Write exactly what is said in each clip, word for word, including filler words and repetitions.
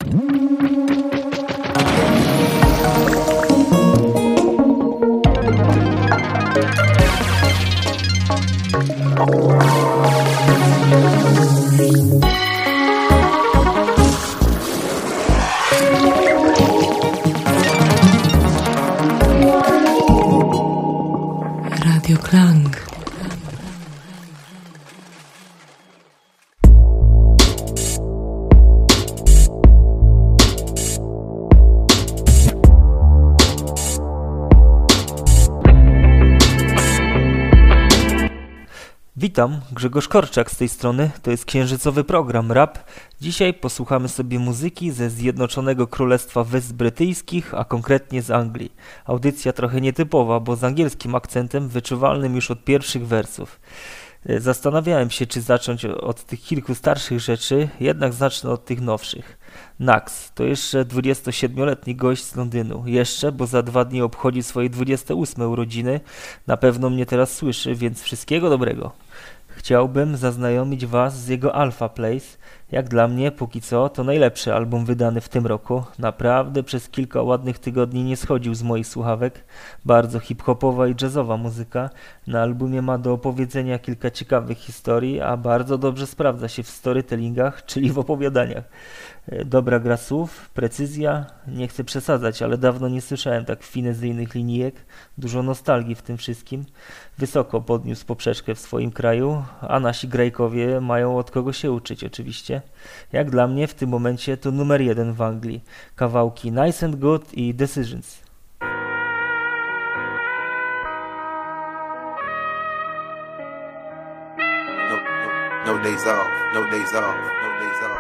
Radio Klang. Witam, Grzegorz Korczak z tej strony, to jest księżycowy program Rap. Dzisiaj posłuchamy sobie muzyki ze Zjednoczonego Królestwa Wysp Brytyjskich, a konkretnie z Anglii. Audycja trochę nietypowa, bo z angielskim akcentem wyczuwalnym już od pierwszych wersów. Zastanawiałem się, czy zacząć od tych kilku starszych rzeczy, jednak zacznę od tych nowszych. Nax to jeszcze dwudziestosiedmioletni gość z Londynu. Jeszcze, bo za dwa dni obchodzi swoje dwudzieste ósme urodziny. Na pewno mnie teraz słyszy, więc wszystkiego dobrego. Chciałbym zaznajomić Was z jego Alpha Place. Jak dla mnie, póki co, to najlepszy album wydany w tym roku. Naprawdę przez kilka ładnych tygodni nie schodził z moich słuchawek. Bardzo hip-hopowa i jazzowa muzyka. Na albumie ma do opowiedzenia kilka ciekawych historii, a bardzo dobrze sprawdza się w storytellingach, czyli w opowiadaniach. Dobra gra słów, precyzja, nie chcę przesadzać, ale dawno nie słyszałem tak finezyjnych linijek, dużo nostalgii w tym wszystkim. Wysoko podniósł poprzeczkę w swoim kraju, a nasi grajkowie mają od kogo się uczyć oczywiście. Jak dla mnie w tym momencie to numer jeden w Anglii. Kawałki Nice and Good i Decisions. No, no, no days off, no days off, no days off.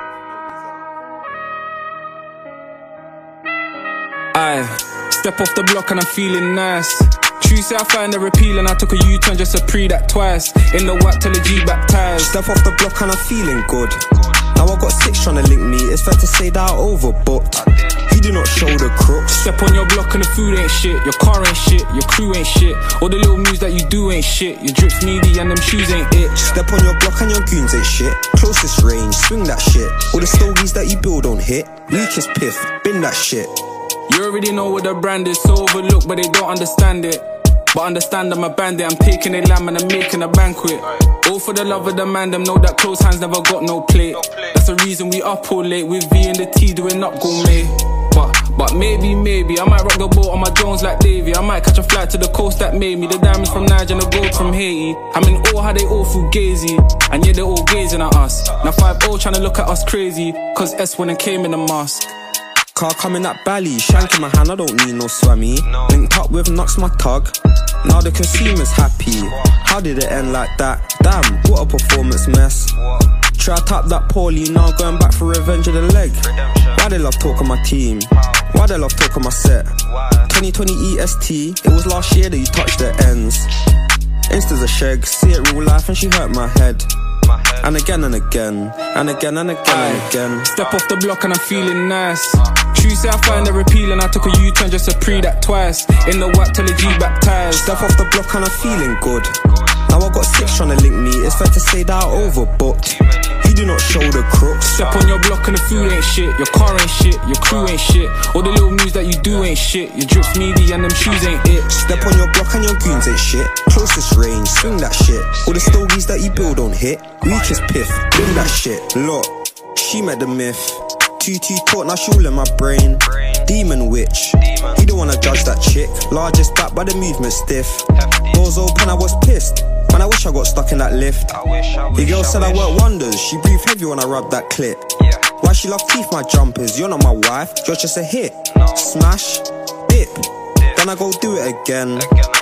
Aye, step off the block and I'm feeling nice. True say I find her appealing, I took a U-turn just to pre that twice. In the whack till the G baptized. Step off the block and I'm feeling good. Now I got six trying to link me, it's fair to say that I overbooked. You do not show the crooks. Step on your block and the food ain't shit, your car ain't shit, your crew ain't shit. All the little moves that you do ain't shit, your drip's needy and them shoes ain't it. Step on your block and your goons ain't shit. Closest range, swing that shit. All the stories that you build don't hit. Weakest piff, bin that shit. You already know what the brand is, so overlooked, but they don't understand it. But understand I'm a bandit, I'm taking a lamb and I'm making a banquet. All for the love of the man, them know that close hands never got no plate. That's the reason we up all late, with V and the T doing up gourmet. But, but maybe, maybe, I might rock the boat on my Jones like Davey. I might catch a flight to the coast that made me. The diamonds from Niger and the gold from Haiti. I'm in awe how they all feel gazy, and yeah, they're all gazing at us. Now five oh trying to look at us crazy, cause S went and came in a mask. Car coming at Bally, shank in my hand, I don't need no swammy. Linked up with Knox, my tug. Now the consumer's happy. How did it end like that? Damn, what a performance mess. Try to tap that poorly, now going back for revenge of the leg. Why they love talking my team? Why they love talking my set? twenty twenty E S T, it was last year that you touched the ends. Insta's a shag, see it real life and she hurt my head. And again and again, and again and again and again. Step off the block and I'm feeling nice. True say I find her appealing, I took a U-turn just to pre that twice. In the whack till the G baptized. Step off the block and I'm feeling good. Now I got six trying to link me, it's fair to say that I overbooked. You do not show the crooks. Step on your block and the food ain't shit, your car ain't shit, your crew ain't shit. All the little moves that you do ain't shit, your drip's needy and them shoes ain't it. Step on your block and your goons ain't shit. Closest range, swing that shit. All the stories that you build don't hit. Weakest piff, bring that shit. Look, she met the myth. Two two talk, now she all in my brain. Demon witch, you don't wanna judge that chick. Largest back by the movement stiff. Doors open, I was pissed. Man, I wish I got stuck in that lift. The girl said I work wonders. She breathed heavy when I rubbed that clit. Why she love teeth, my jumpers? You're not my wife, you're just a hit. Smash, dip, then I go do it again.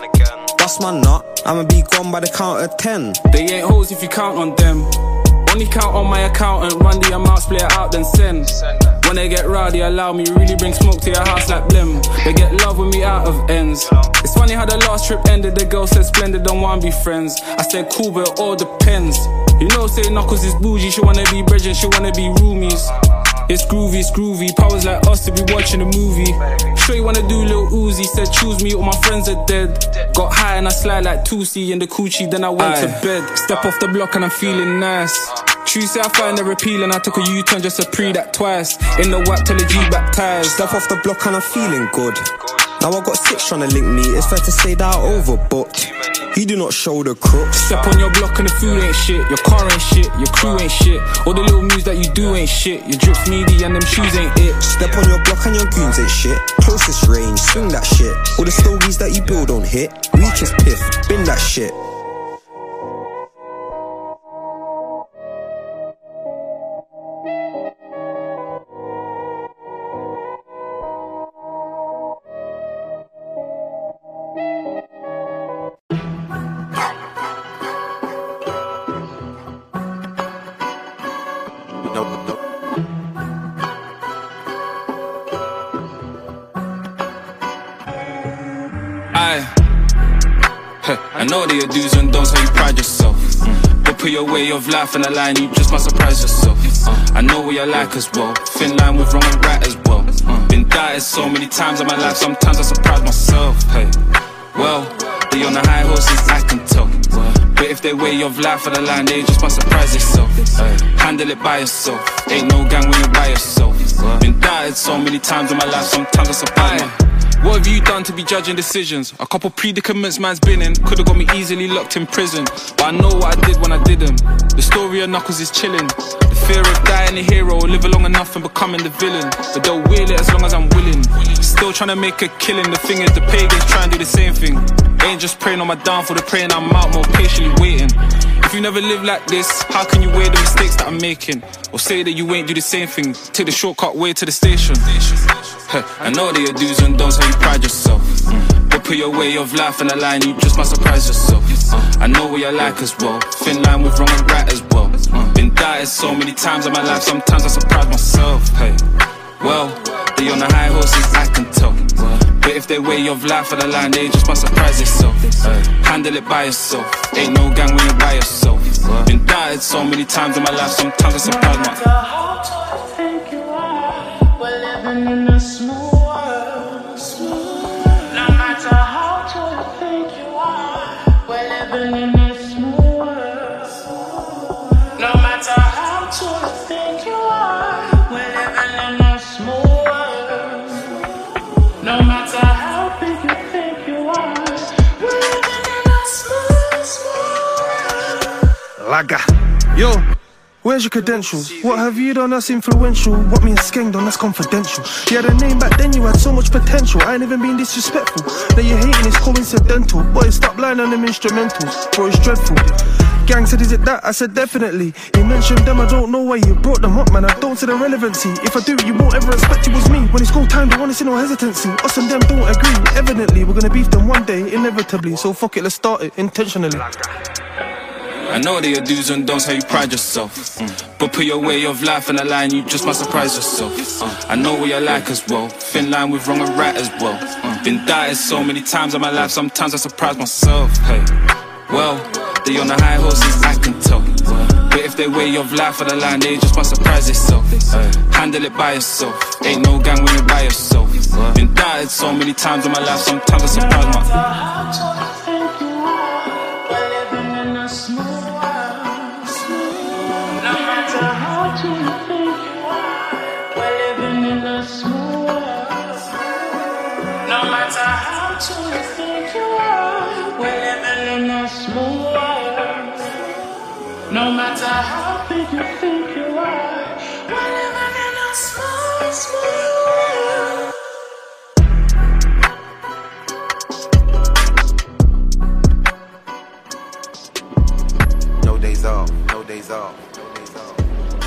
Bust my nut, I'ma be gone by the count of ten. They ain't hoes if you count on them. Only count on my accountant, run the amount, split it out, then send. When they get rowdy, allow me, really bring smoke to your house like blim. They get love with me out of ends. It's funny how the last trip ended, the girl said splendid, don't wanna be friends. I said cool, but it all depends. You know, say Knuckles is bougie, she wanna be brethren, she wanna be roomies. It's groovy, it's groovy, powers like us to be watching a movie. Sure you wanna do Lil Uzi, said choose me, all my friends are dead. Got high and I slide like Tootsie in the coochie, then I went Aye. to bed. Step off the block and I'm feeling nice. True, say I find her appealing. I took a U-turn just to pre that twice. In the whack till the G baptized. Step off the block and I'm feeling good. Now I got six trying to link me. It's fair to say that I overbooked. You do not show the crooks. Step on your block and the food ain't shit. Your car ain't shit, your crew ain't shit. All the little moves that you do ain't shit. Your drip's meaty and them shoes ain't it. Step on your block and your goons ain't shit. Closest range, swing that shit. All the stogies that you build don't hit. Reach is piff, bin that shit. No, no. I, I know that your do's and don'ts, how you pride yourself. But put your way of life in the line, you just might surprise yourself. I know what you're like as well. Thin line with wrong and right as well. Been doubted so many times in my life, sometimes I surprise myself. Hey, well, they on the high horses, I can tell. But if they way of life on the line, they just might surprise yourself. Ay, handle it by yourself. Ain't no gang when you're by yourself. Been doubted so many times in my life, sometimes I surprise myself. What have you done to be judging decisions? A couple predicaments man's been in. Could've got me easily locked in prison, but I know what I did when I didn't. The story of Knuckles is chilling. The fear of dying a hero, living long enough and becoming the villain. But they'll wheel it as long as I'm willing. Still trying to make a killing. The thing is the pagans try and do the same thing. They ain't just praying on my downfall, they're praying I'm out more patiently waiting. If you never live like this, how can you weigh the mistakes that I'm making? Or say that you ain't do the same thing, take the shortcut way to the station. I know that your do's and don'ts, how you pride yourself. But put your way of life in the line, you just might surprise yourself. I know what you're like as well. Thin line with wrong and right as well. Been doubted so many times in my life, sometimes I surprise myself. Hey, well, they on the high horses, I can tell. But if they way of life on the line, they just might surprise yourself. Handle it by yourself. Ain't no gang when you're by yourself. Been doubted so many times in my life, sometimes I surprise myself. In a small world, no matter how tall you think you are, we're living in a small world. No matter how tall you think you are, we're living in a small world. No matter how big you think you are, we're living in a small, small world. Laga, yo. Where's your credentials? What have you done that's influential? What me and Skeng done that's confidential? You had a name back then, you had so much potential. I ain't even been disrespectful. Now you're hating, it's coincidental. Boy, stop lying on them instrumentals, bro, it's dreadful. Gang said, is it that? I said, definitely. You mentioned them, I don't know why you brought them up, man. I don't see the relevancy. If I do, you won't ever expect it was me. When it's go time, they wanna see no hesitancy. Us and them don't agree. Evidently, we're gonna beef them one day, inevitably. So fuck it, let's start it, intentionally. I know that your do's and don'ts, how you pride yourself. mm. But put your way of life in the line, you just might surprise yourself. uh, I know what you're like as well. Thin line with wrong and right as well. uh, Been doubted so many times in my life, sometimes I surprise myself. Hey, well, they on the high horses, I can tell. But if they way of life on the line, they just might surprise yourself. uh, Handle it by yourself. Ain't no gang when you're by yourself. Been doubted so many times in my life, sometimes I surprise myself. No matter how big you think you are, we're living in a small, small world. No days off, no days off, no days off.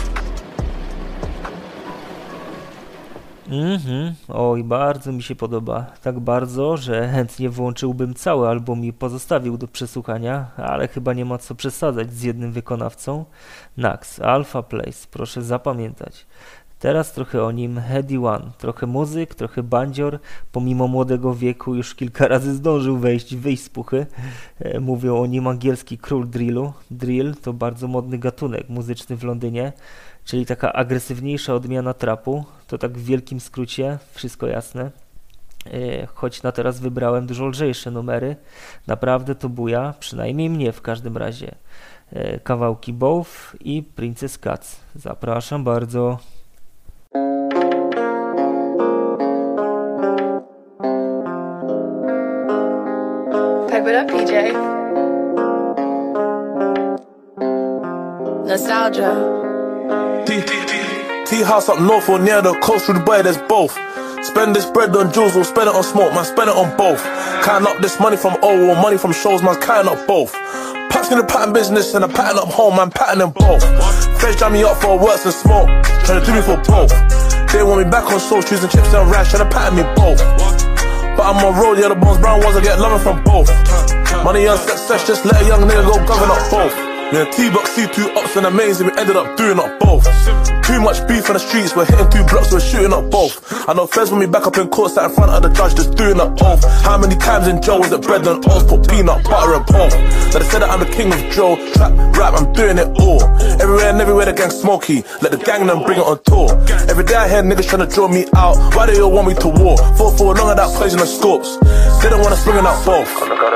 Mhm, oj, bardzo mi się podoba. Tak bardzo, że chętnie włączyłbym cały album i pozostawił do przesłuchania, ale chyba nie ma co przesadzać z jednym wykonawcą. Nax, Alpha Place, proszę zapamiętać. Teraz trochę o nim, Heady One, trochę muzyk, trochę bandzior, pomimo młodego wieku już kilka razy zdążył wejść, wyjść z puchy. E, mówią o nim angielski król drillu. Drill to bardzo modny gatunek muzyczny w Londynie, czyli taka agresywniejsza odmiana trapu. To tak w wielkim skrócie, wszystko jasne. E, choć na teraz wybrałem dużo lżejsze numery, naprawdę to buja, przynajmniej mnie w każdym razie. kawałki Both i Princess Cuts. Zapraszam bardzo. Pipe it up, P J. Nostalgia. Tea house up north or near the coast through Dubai, there's both. Spend this bread on jewels or spend it on smoke, man, spend it on both. Counting up this money from O or money from shows, man, counting up both. Paps in the pattern business and a pattern up home, man, pattern them both. Feds jam me up for works and smoke, trying to do me for both. They want me back on soul, choosing chips and rice, trying to pattern me both. But I'm on road, yeah, the bones brown ones, I get loving from both. Money on success, just let a young nigga go govern up both. Me and T-Box see two ups and amazing, we ended up doing up both. Too much beef on the streets, we're hitting two blocks, we're shooting up both. I know Fez when me back up in court, sat in front of the judge, just doing up both. How many times in jail was it bread and oats, put peanut butter and both. Now they said that I'm the king of Joe, trap, rap, I'm doing it all. Everywhere and everywhere the gang smoky, let the gang them bring it on tour. Every day I hear niggas trying to draw me out, why they all want me to war? Fought for long of that poison and scopes, they don't wanna swing it out both.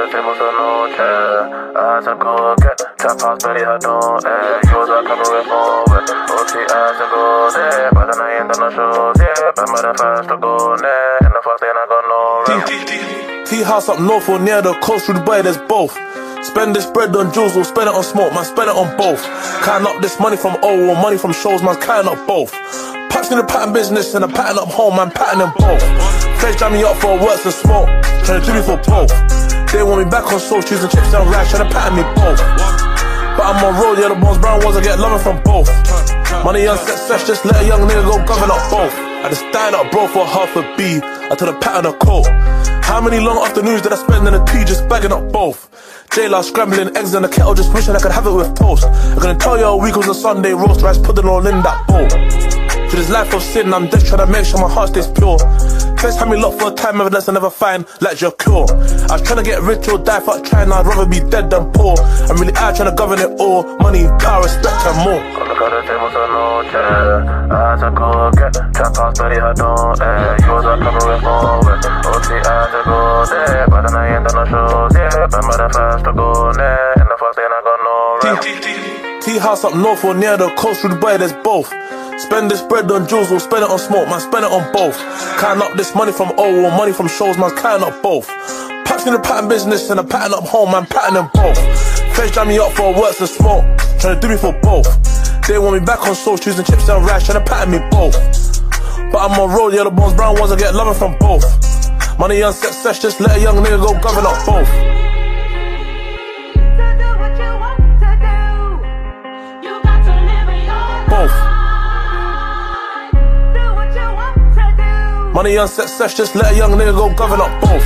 Eyes and go get tap house, belly I don't eh. Yours are coming with more with O T eyes and go there. But then I ain't done no shows, yeah. But I'm the first to go there. And the first thing I got no rap. Tea house up north or near the coast through Dubai, there's both. Spend this bread on jewels or spend it on smoke, man, spend it on both. Counting up this money from O or money from shows, man, counting up both. Paps in the pattern business and a pattern up home, man, pattern them both. Feds jam me up for works and smoke, trying to do me for both. They want me back on soul, choosing chips and rice, trying to pattern me both. But I'm on road, yeah, the bones brown ones, I get loving from both. Money on success, just let a young nigga go govern up both. I just died up, bro, for half a B, I told a pattern a coat. How many long afternoons did I spend in the tea just bagging up both? J-Law scrambling eggs in the kettle, just wishing I could have it with toast. I'm gonna tell you a week was a Sunday roast rice, put it all in that bowl. To this life of sin, I'm just trying to make sure my heart stays pure. First had me locked for a time, evidence I never find, like your cure. I was trying to get rich or die, fuck trying, I'd rather be dead than poor. I'm really out trying to govern it all, money, power, respect and more. Look at the tables on no chair, eyes and go get, trap house, belly I don't eh. Yours are coming with more with O T eyes and go there. But then I ain't done no shows, yeah. But I'm the first to go there, and the first thing I got no rap. Tea house up north or near the coast through Dubai, there's both. Spend this bread on jewels or spend it on smoke, man, spend it on both. Counting up this money from O or money from shows, man, counting up both. Paps in the pattern business and a pattern up home, man, pattern them both. Feds jam me up for works and smoke, trying to do me for both. They want me back on soul, choosing chips and rice, trying to pattern me both. But I'm on road, yeah, the bones brown ones, I get loving from both. Money on success, just let a young nigga go govern up both. Both. Money on success, just let a young nigga go govern up both.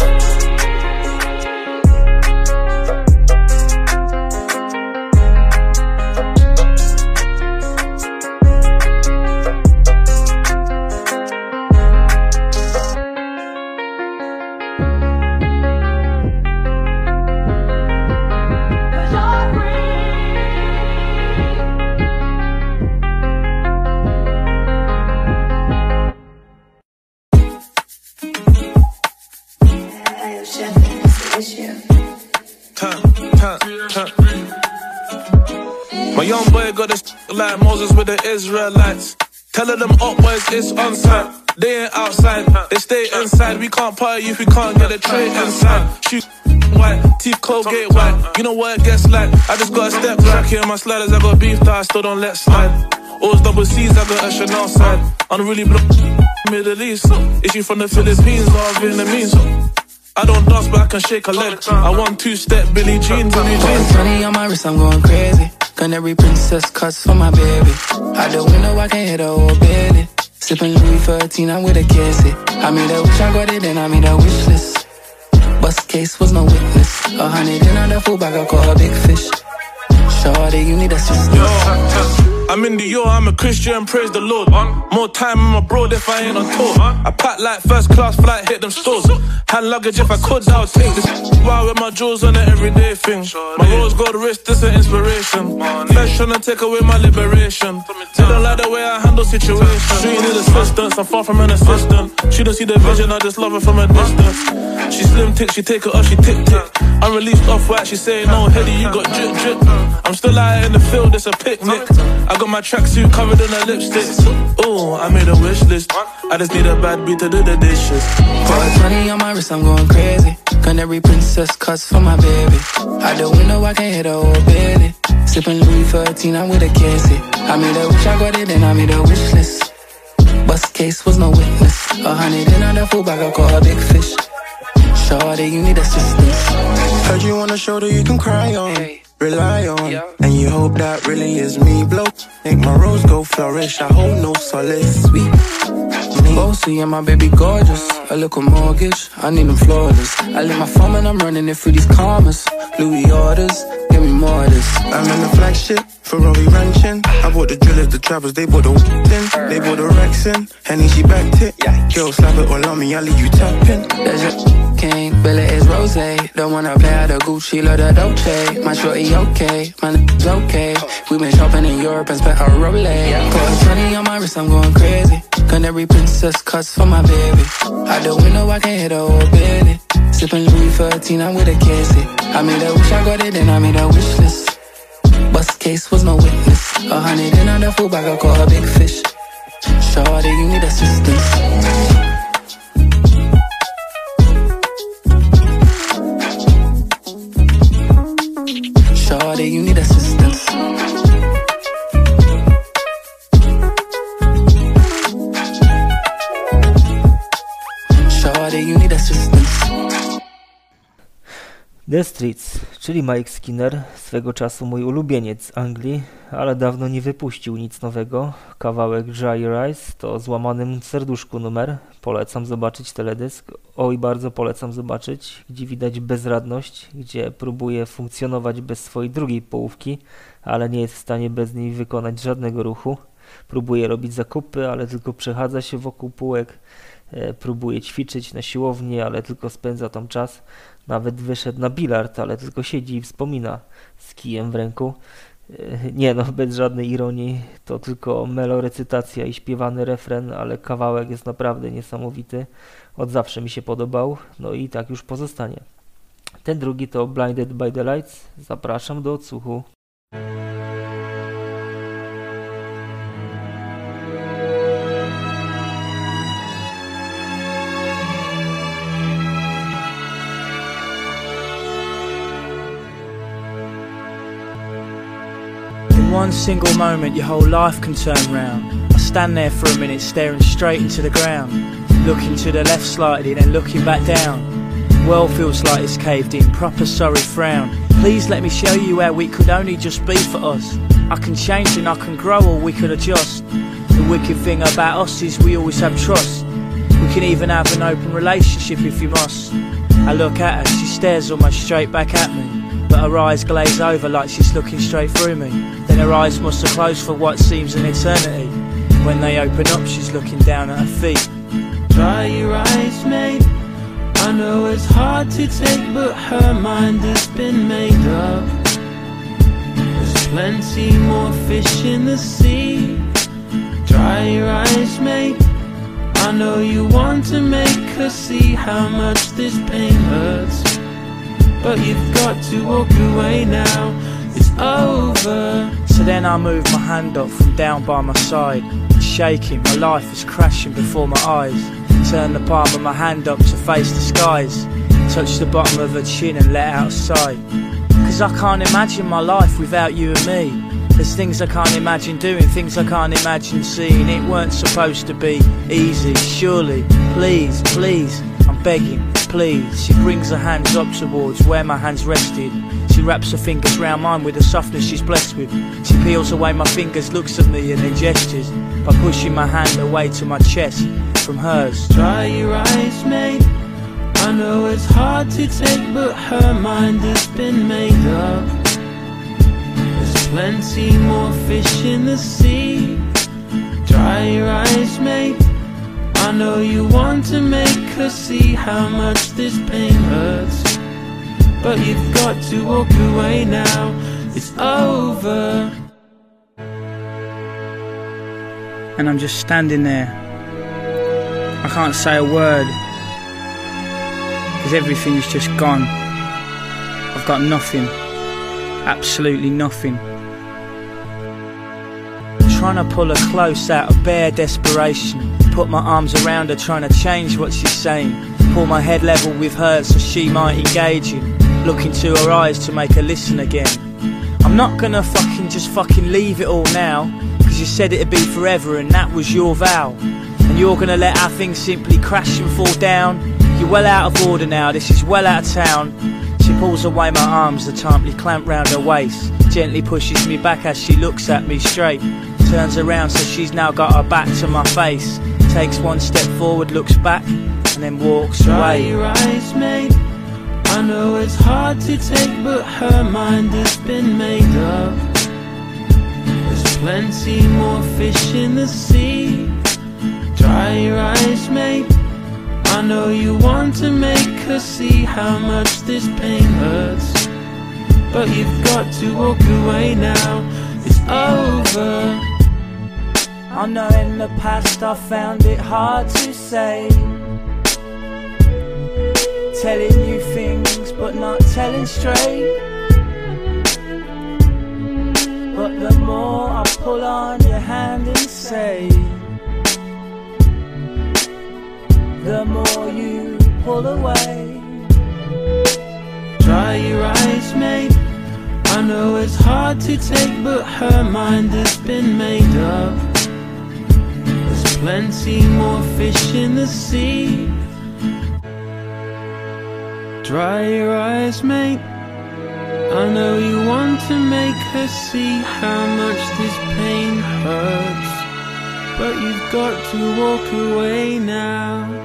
My young boy got this like Moses with the Israelites. Telling them up boys it's on site. They ain't outside, they stay inside. We can't party if we can't get a tray inside. Shoot white, teeth Colgate white. You know what it gets like. I just got a step back here, my sliders. I got beef that I still don't let slide. Alls double C's, I got a Chanel side. Unruly block, Middle East. Is she from the Philippines or Vietnamese? I don't dance but I can shake a leg. I want two-step Billie Jean, Billie Jean. Money on my wrist, I'm going crazy. Gun every princess cuts for my baby. Out the window, I can hit a whole belly. Sipping Louis thirteen, I'm with a cassie. I made a wish, I got it, then I made a wish list. Bust case was no witness. A hundred in on the full bag, I caught a big fish. Shorty, you need assistance. I'm in Dior, I'm a Christian, praise the Lord. More time I'm abroad if I ain't on tour. I pack like first class flight, hit them stores. Hand luggage if I could, I would take this. Wow, with my jewels on an everyday thing. My rose gold wrist, this an inspiration. Flesh tryna take away my liberation. They don't like the way I handle situations. She need assistance, I'm far from an assistant. She don't see the vision, I just love her from a distance. She slim tick, she take it off, she tick tick. I'm released off white, she saying no, Heady, you got drip drip. I'm still out in the field, it's a picnic. I got my tracksuit covered in a lipstick. Ooh, I made a wish list. I just need a bad beat to do the dishes. Got twenty on my wrist, I'm going crazy. Canary princess cuts for my baby. Out the window, I can hit a whole belly. Sipping Louis thirteen, I'm with a Casey. I made a wish, I got it, then I made a wish list. Bust case was no witness. A hundred in on the full bag, I caught a big fish. Shawty, you need assistance. Heard you on a shoulder you can cry on, hey. Rely on, yeah. And you hope that really is me. Blow, make my rose go flourish. I hold no solace, sweet. Bossy and my baby gorgeous. A little mortgage, I need them flawless. I leave my phone and I'm running it through these commas. Louis orders, give me more of this. I'm in the flagship, Ferrari ranching. I bought the drillers, the trappers, they bought the in. They bought the Rex in, Henny she backed it. Girl slap it all on me, I leave you tapping. There's your king, Billy is Rose. Don't wanna play out the Gucci, love the Dolce. My shorty okay, my n***'s okay. We been shopping in Europe and spent a Rolex. Got twenty on my wrist, I'm going crazy. Canary princess cuts for my baby. Out the window, I can hit a whole belly. Sipping Louis thirteen, I'm with a Casey. I made a wish, I got it, then I made a wish list. Bust case was no witness. A hundred in on the full bag, I caught a big fish. Shawty, you need assistance. Shawty, you need assistance. Shawty, you need assistance. The Streets, czyli Mike Skinner, swego czasu mój ulubieniec z Anglii, ale dawno nie wypuścił nic nowego. Kawałek Dry Your Eyes to złamanym serduszku numer. Polecam zobaczyć teledysk. Oj, bardzo polecam zobaczyć, gdzie widać bezradność, gdzie próbuje funkcjonować bez swojej drugiej połówki, ale nie jest w stanie bez niej wykonać żadnego ruchu. Próbuje robić zakupy, ale tylko przechadza się wokół półek. Próbuje ćwiczyć na siłowni, ale tylko spędza tam czas. Nawet wyszedł na bilard, ale tylko siedzi i wspomina z kijem w ręku. Nie no, bez żadnej ironii, to tylko melorecytacja i śpiewany refren, ale kawałek jest naprawdę niesamowity. Od zawsze mi się podobał, no i tak już pozostanie. Ten drugi to Blinded by the Lights. Zapraszam do odsłuchu. One single moment your whole life can turn round. I stand there for a minute staring straight into the ground, looking to the left slightly then looking back down. World feels like it's caved in, proper sorry frown. Please let me show you how we could only just be for us. I can change and I can grow or we could adjust. The wicked thing about us is we always have trust. We can even have an open relationship if you must. I look at her, she stares almost straight back at me, but her eyes glaze over like she's looking straight through me. Then her eyes must have closed for what seems an eternity. When they open up, she's looking down at her feet. Dry your eyes, mate. I know it's hard to take, but her mind has been made up. There's plenty more fish in the sea. Dry your eyes, mate. I know you want to make her see how much this pain hurts, but you've got to walk away now. It's over. So then I move my hand up from down by my side, shaking, my life is crashing before my eyes. Turn the palm of my hand up to face the skies, touch the bottom of her chin and let out a sigh. Cause I can't imagine my life without you and me. There's things I can't imagine doing, things I can't imagine seeing. It weren't supposed to be easy, surely. Please, please, I'm begging, please. She brings her hands up towards where my hands rested. She wraps her fingers round mine with the softness she's blessed with. She peels away my fingers, looks at me and then gestures by pushing my hand away to my chest from hers. Dry your eyes, mate. I know it's hard to take, but her mind has been made up. There's plenty more fish in the sea. Dry your eyes, mate. I know you want to make her see how much this pain hurts, but you've got to walk away now. It's over. And I'm just standing there. I can't say a word, because everything's just gone. I've got nothing. Absolutely nothing. Trying to pull her close out of bare desperation. Put my arms around her, trying to change what she's saying. Pull my head level with hers so she might engage in. Look into her eyes to make her listen again. I'm not gonna fucking just fucking leave it all now, cause you said it'd be forever and that was your vow. And you're gonna let our things simply crash and fall down. You're well out of order now, this is well out of town. She pulls away my arms, the tightly clamped round her waist. Gently pushes me back as she looks at me straight. Turns around so she's now got her back to my face. Takes one step forward, looks back, and then walks Dry away. your eyes, mate. I know it's hard to take, but her mind has been made up. There's plenty more fish in the sea. Dry your eyes, mate. I know you want to make her see how much this pain hurts, but you've got to walk away now. It's over. I know in the past I found it hard to say, telling you things but not telling straight. But the more I pull on your hand and say, the more you pull away. Dry your eyes, mate. I know it's hard to take, but her mind has been made up. There's plenty more fish in the sea. Dry your eyes, mate. I know you want to make her see how much this pain hurts, but you've got to walk away now.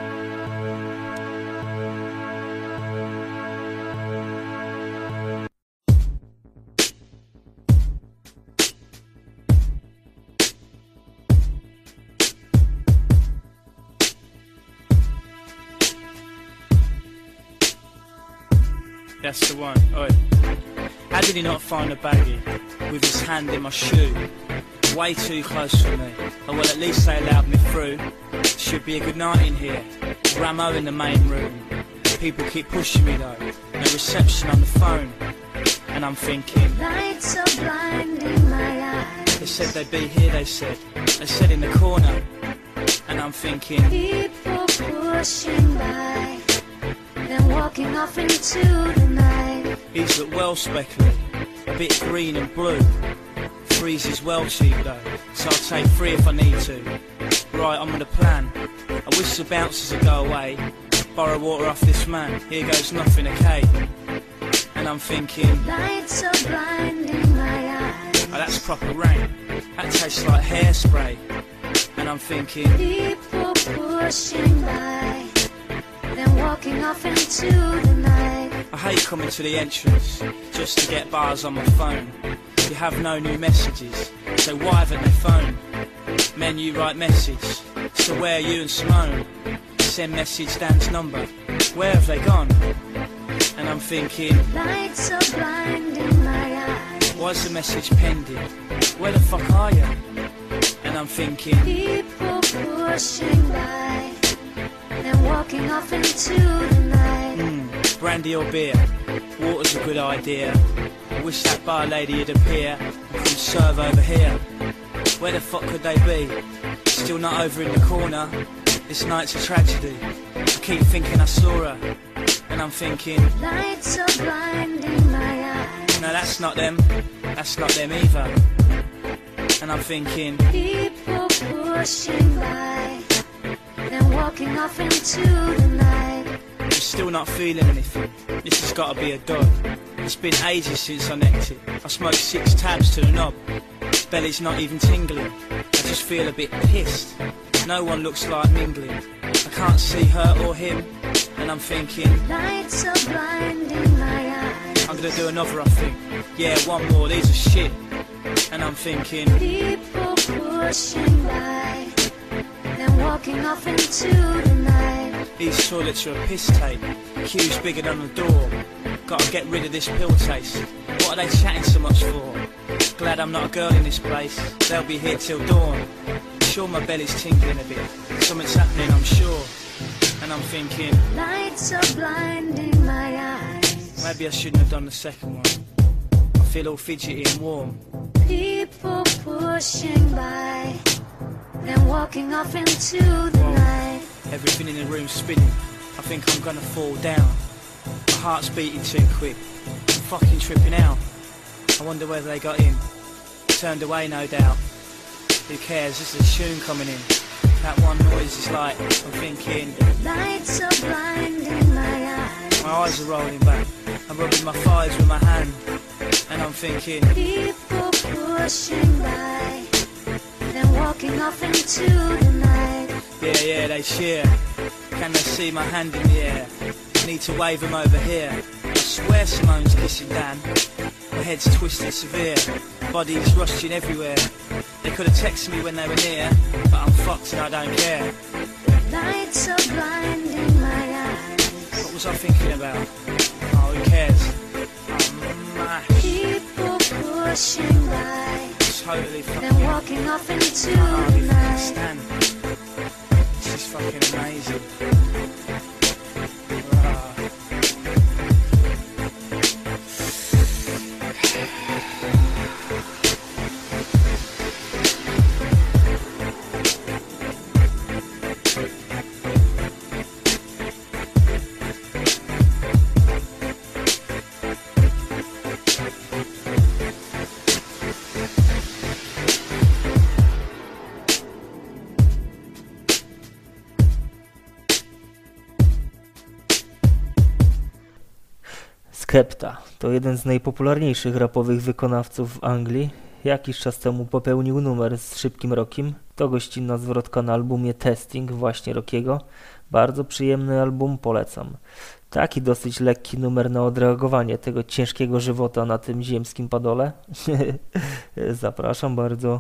That's the one. Oi. How did he not find a baggie with his hand in my shoe? Way too close for me. Oh well, at least they allowed me through. Should be a good night in here. Ramo in the main room. People keep pushing me though. No reception on the phone. And I'm thinking, lights are blinding my eyes. They said they'd be here, they said. They said in the corner. And I'm thinking, people pushing by, then walking off into the night. He's look well speckled, a bit green and blue. Three's is well cheap though, so I'll take three if I need to. Right, I'm on the plan. I wish the bouncers would go away. Borrow water off this man, here goes nothing, okay? And I'm thinking, lights are blinding my eyes. Oh, that's proper rain. That tastes like hairspray. And I'm thinking, people pushing by, then walking off into the night. I hate coming to the entrance just to get bars on my phone. You have no new messages, so why haven't they phoned? Menu write message, so where are you and Simone? Send message Dan's number, where have they gone? And I'm thinking, lights are blinding my eyes. Why's the message pending? Where the fuck are you? And I'm thinking, people pushing by, then walking off into the night. Mm, brandy or beer? Water's a good idea. I wish that bar lady would appear and come serve over here. Where the fuck could they be? Still not over in the corner. This night's a tragedy. I keep thinking I saw her, and I'm thinking, lights are blinding my eyes. No, that's not them. That's not them either. And I'm thinking, people pushing by, then walking off into the night. I'm still not feeling anything. This has got to be a dud. It's been ages since I necked it. I smoked six tabs to the knob. Belly's not even tingling. I just feel a bit pissed. No one looks like mingling. I can't see her or him. And I'm thinking, lights are blinding my eyes. I'm gonna do another, I think. Yeah, one more, these are shit. And I'm thinking, people pushing by, then walking off into the night. These toilets are a piss tape, queues bigger than the door. Gotta get rid of this pill taste. What are they chatting so much for? Glad I'm not a girl in this place, they'll be here till dawn. Sure my belly's tingling a bit, something's happening I'm sure. And I'm thinking, lights are blinding my eyes. Maybe I shouldn't have done the second one. I feel all fidgety and warm. People pushing by, then walking off into the Whoa. night. Everything in the room's spinning, I think I'm gonna fall down. My heart's beating too quick, I'm fucking tripping out. I wonder whether they got in, turned away no doubt. Who cares, this is a tune coming in. That one noise is like, I'm thinking, lights are blinding my eyes. My eyes are rolling back, I'm rubbing my thighs with my hand. And I'm thinking, people pushing by, then walking off into the night. Yeah, yeah, they cheer. Can they see my hand in the air? I need to wave them over here. I swear Simone's kissing Dan. My head's twisted severe, body's rushing everywhere. They could have texted me when they were near, but I'm fucked and I don't care. Lights are blinding my eyes. What was I thinking about? Oh, who cares? People pushing by, totally then walking off into the night. Stand. This is fucking amazing. Skepta to jeden z najpopularniejszych rapowych wykonawców w Anglii. Jakiś czas temu popełnił numer z Szybkim Rockiem. To gościnna zwrotka na albumie Testing właśnie Rockiego. Bardzo przyjemny album, polecam. Taki dosyć lekki numer na odreagowanie tego ciężkiego żywota na tym ziemskim padole. Zapraszam bardzo.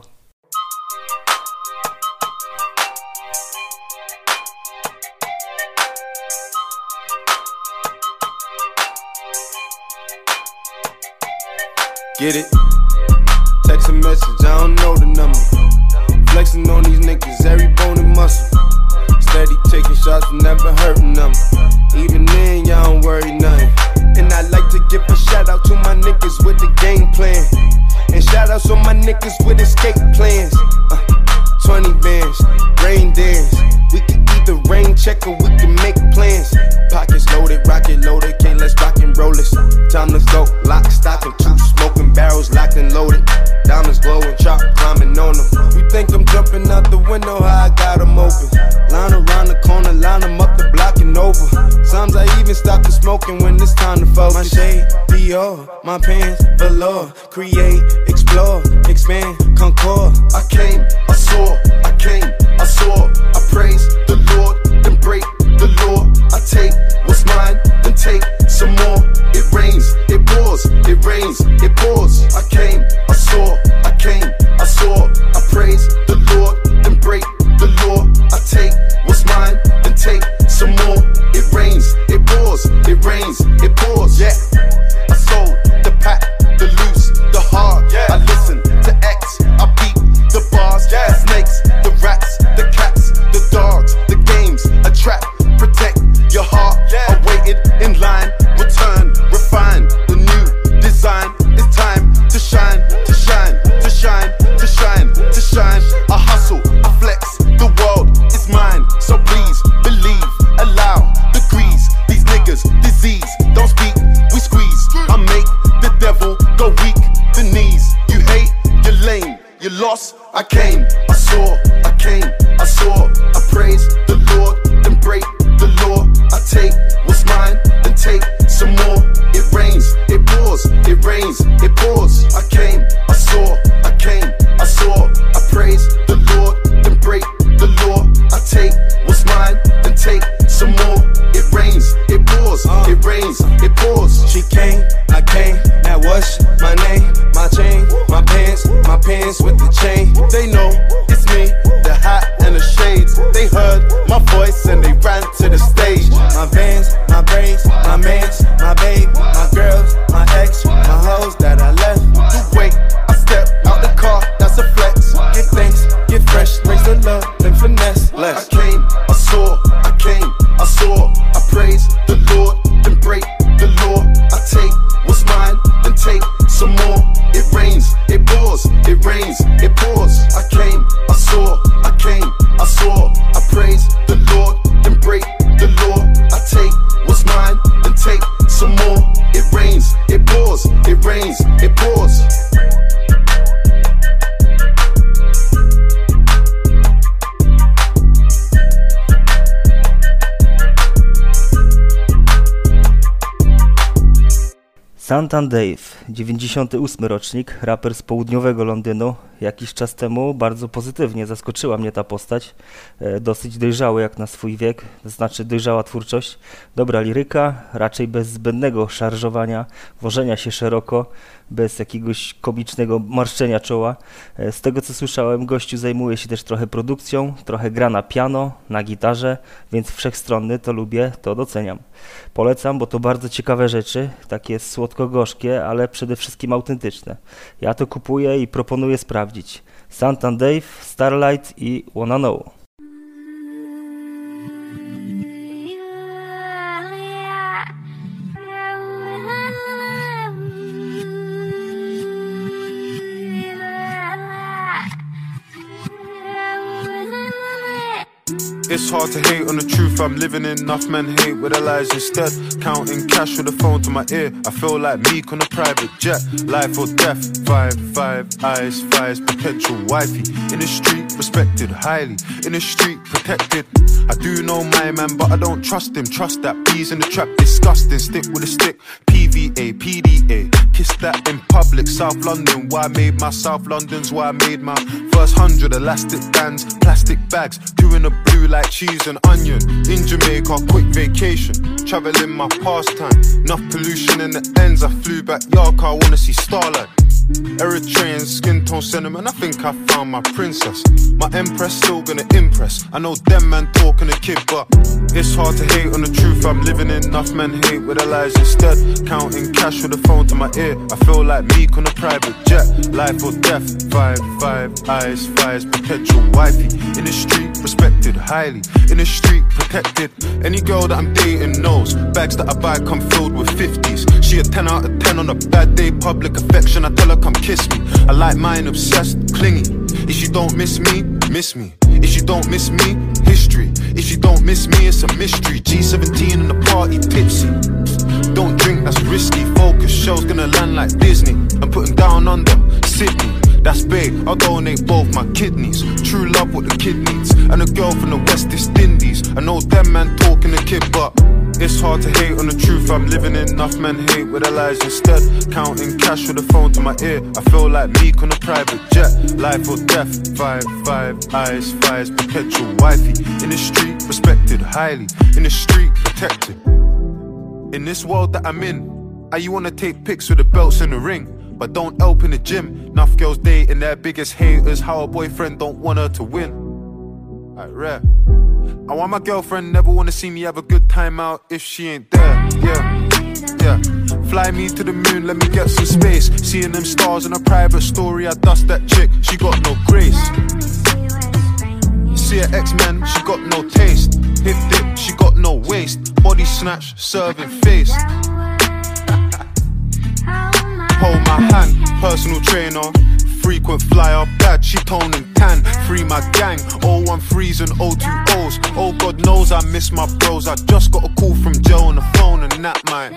Get it? Text a message, I don't know the number. Flexing on these niggas, every bone and muscle. Steady taking shots, never hurting them. Even then, y'all don't worry nothing. And I like to give a shout out to my niggas with the game plan. And shout outs on my niggas with escape plans. Uh, twenty bands, rain dance. We can either rain check or we can make plans. Pockets loaded, rocket loaded, can't let's rock and roll this. Time to go, lock, stock, and two smoking barrels locked and loaded. Diamonds glowing, chop climbing on them. You think I'm jumping out the window, how I got them open. Line around the corner, line them up the block and over. Sometimes I even stop the smoking when it's time to focus. My shade, Dior, my pants, velour. Create, explore, expand, concord. I came, I saw, I came, I saw. I praise the Lord, then break the law. I take what's mine, then take some more. It rains, it pours, it rains, it pours. I came, I saw, I came, I saw. I praise the Lord, then break the law. I take what's mine, then take some more. It rains, it pours, it rains, it pours. Yeah, I sold the pack, the loose, the hard. Yeah. I listen to X, I beat the bars, yeah. The snakes, the rats, the cats. voice and they ran to the stage. My veins, my braids, my mains, my babe, my girls, my ex, my hoes that I left. You wait, I step out the car, that's a flex. Give thanks, get fresh, raise the love, then finesse. Bless. I came, I saw, I came, I saw, I praise the Lord, then break the law. I take what's mine, then take some more. It rains, it pours, it rains, it pours. I came, I saw, I came, I saw, I praise the Lord, then break the law. I take what's mine, then take some more. It rains, it pours, it rains, it pours. Santan Dave, dziewięćdziesiąty ósmy rocznik, raper z południowego Londynu. Jakiś czas temu bardzo pozytywnie zaskoczyła mnie ta postać. E, dosyć dojrzały jak na swój wiek, to znaczy dojrzała twórczość, dobra liryka, raczej bez zbędnego szarżowania, wożenia się szeroko, bez jakiegoś komicznego marszczenia czoła. E, z tego co słyszałem, gościu zajmuje się też trochę produkcją, trochę gra na piano, na gitarze, więc wszechstronny, to lubię, to doceniam. Polecam, bo to bardzo ciekawe rzeczy, takie słodko-gorzkie, ale przede wszystkim autentyczne. Ja to kupuję i proponuję sprawdzić. Santan Dave, Starlight i Wanna Know. It's hard to hate on the truth I'm living in. Enough men hate with their lies instead. Counting cash with the phone to my ear. I feel like Meek on a private jet. Life or death. Five, five, eyes, fires, potential wifey. In the street, respected highly. In the street, protected. I do know my man, but I don't trust him. Trust that bees in the trap, disgusting. Stick with a stick. P V A, P D A. Kiss that in public. South London, why I made my South London's why I made my first hundred elastic bands, plastic bags, two in the blue like cheese and onion. In Jamaica, quick vacation, traveling my pastime. Enough pollution in the ends. I flew back York, I wanna see starlight. Eritrean skin tone sentiment, I think I found my princess. My empress still gonna impress. I know them man talking a kid, but it's hard to hate on the truth I'm living in. Enough men hate with their lies instead. Counting cash with the phone to my ear. I feel like Meek on a private jet. Life or death. Five, five, eyes, fires, potential wifey. In the street, respected highly. In the street, protected. Any girl that I'm dating knows bags that I buy come filled with fifties. She a ten out of ten on a bad day. Public affection, I tell her come kiss me. I like mine obsessed, clingy. If you don't miss me, miss me. If you don't miss me, history. If you don't miss me, it's a mystery. G seventeen in the party, tipsy. Don't drink, that's risky. Focus, show's gonna land like Disney. I'm putting down under Sydney. That's big, I'll donate both my kidneys. True love what the kid needs. And a girl from the West Indies. I know them man talking the kid, but it's hard to hate on the truth I'm living in. Enough men hate with their lies instead. Counting cash with the phone to my ear. I feel like Meek on a private jet. Life or death. Five, five, eyes, fires, potential wifey. In the street, respected highly. In the street, protected. In this world that I'm in, I you wanna take pics with the belts in the ring, but don't help in the gym. Enough girls dating their biggest haters. How a boyfriend don't want her to win. I rap. I want my girlfriend never wanna see me have a good time out if she ain't there. Yeah, yeah. Fly me to the moon, let me get some space. Seeing them stars in a private story, I dust that chick. She got no grace. See her X-Men, she got no taste. Hip dip, she got no waist. Body snatch, serving face. Hold my hand, personal trainer. Frequent flyer, bad, she tone and tan. Free my gang, oh one threes and oh two O's. Oh God knows I miss my bros. I just got a call from Joe on the phone and that might.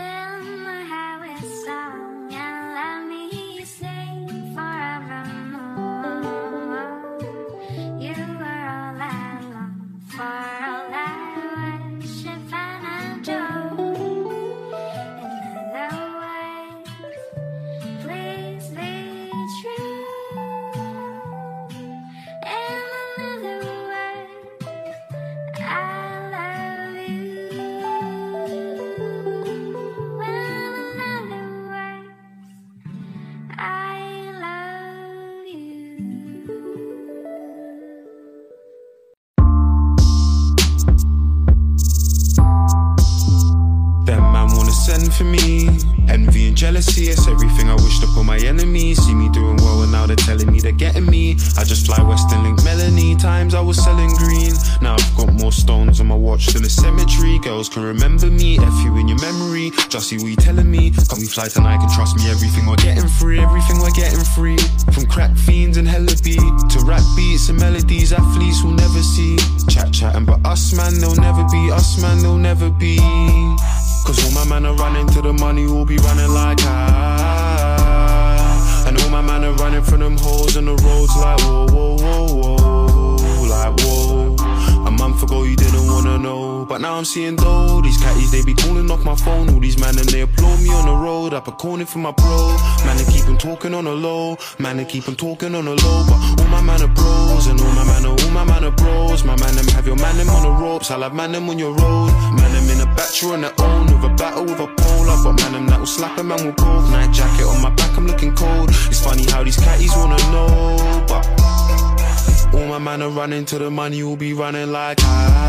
I love you. for me. Envy and jealousy, it's everything I wished upon my enemies. See me doing well and now they're telling me they're getting me. I just fly Western Link Melanie. Times I was selling green. Now I've got more stones on my watch than a cemetery. Girls can remember me, F you in your memory. Just see what you telling me. Can we fly tonight, can trust me. Everything we're getting free, everything we're getting free. From crack fiends and hella beat to rap beats and melodies athletes will never see. Chat chatting but us man, they'll never be. Us man, they'll never be. Cause all my man are running to the money, will be running like ah. And all my man are running from them holes on the roads like whoa, whoa, whoa, whoa. Like whoa. A month ago you didn't wanna know, but now I'm seeing though. These catties, they be calling off my phone. All these man and they applaud me on the road. Up a corner for my bro. Man, they keep on talking on the low. Man, they keep on talking on the low. But all my man are bros. And all my man are, all my man are bros. My man them have your man them on the ropes. I'll have man them on your road. Man them in a battery on their own. With a battle with a pole. I've got man them that will slap a man with both. Night jacket on my back, I'm looking cold. It's funny how these catties wanna know, but all my man are running to the money, will be running like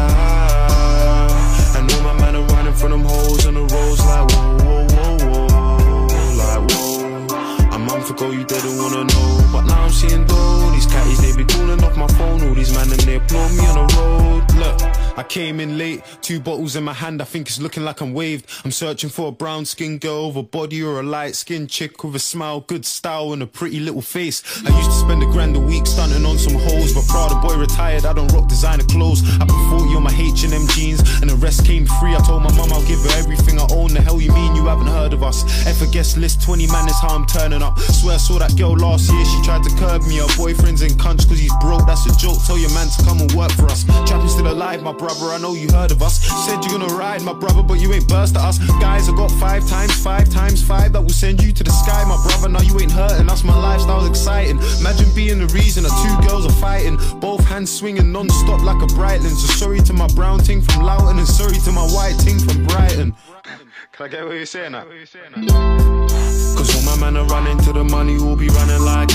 ah. And all my man are running from them holes on the roads like whoa, whoa, whoa, whoa. Like whoa. A month ago you didn't wanna know, but now I'm seeing though. These catties, they be calling off my phone. All these man and they applaud me on the road. Look, I came in late, two bottles in my hand, I think it's looking like I'm waved. I'm searching for a brown skin girl with a body or a light skin chick with a smile, good style and a pretty little face. I used to spend a grand a week stunting on some hoes, but proud of boy retired, I don't rock designer clothes. I put forty on my H and M jeans and the rest came free. I told my mum I'll give her everything I own. The hell you mean you haven't heard of us? F a guest list, twenty man is how I'm turning up. Swear I saw that girl last year, she tried to curb me. Her boyfriend's in cunts cause he's broke, that's a joke. Tell your man to come and work for us. Trapping's still alive, my brother, I know you heard of us. Said you're gonna ride, my brother, but you ain't burst at us. Guys, I got five times five times five that will send you to the sky, my brother. Now you ain't hurting us, my lifestyle's exciting. Imagine being the reason that two girls are fighting, both hands swinging non-stop like a Breitling. So sorry to my brown ting from Loughton and sorry to my white ting from Brighton. Can I get what you're saying now? Cause all my man are running to the money, will be running like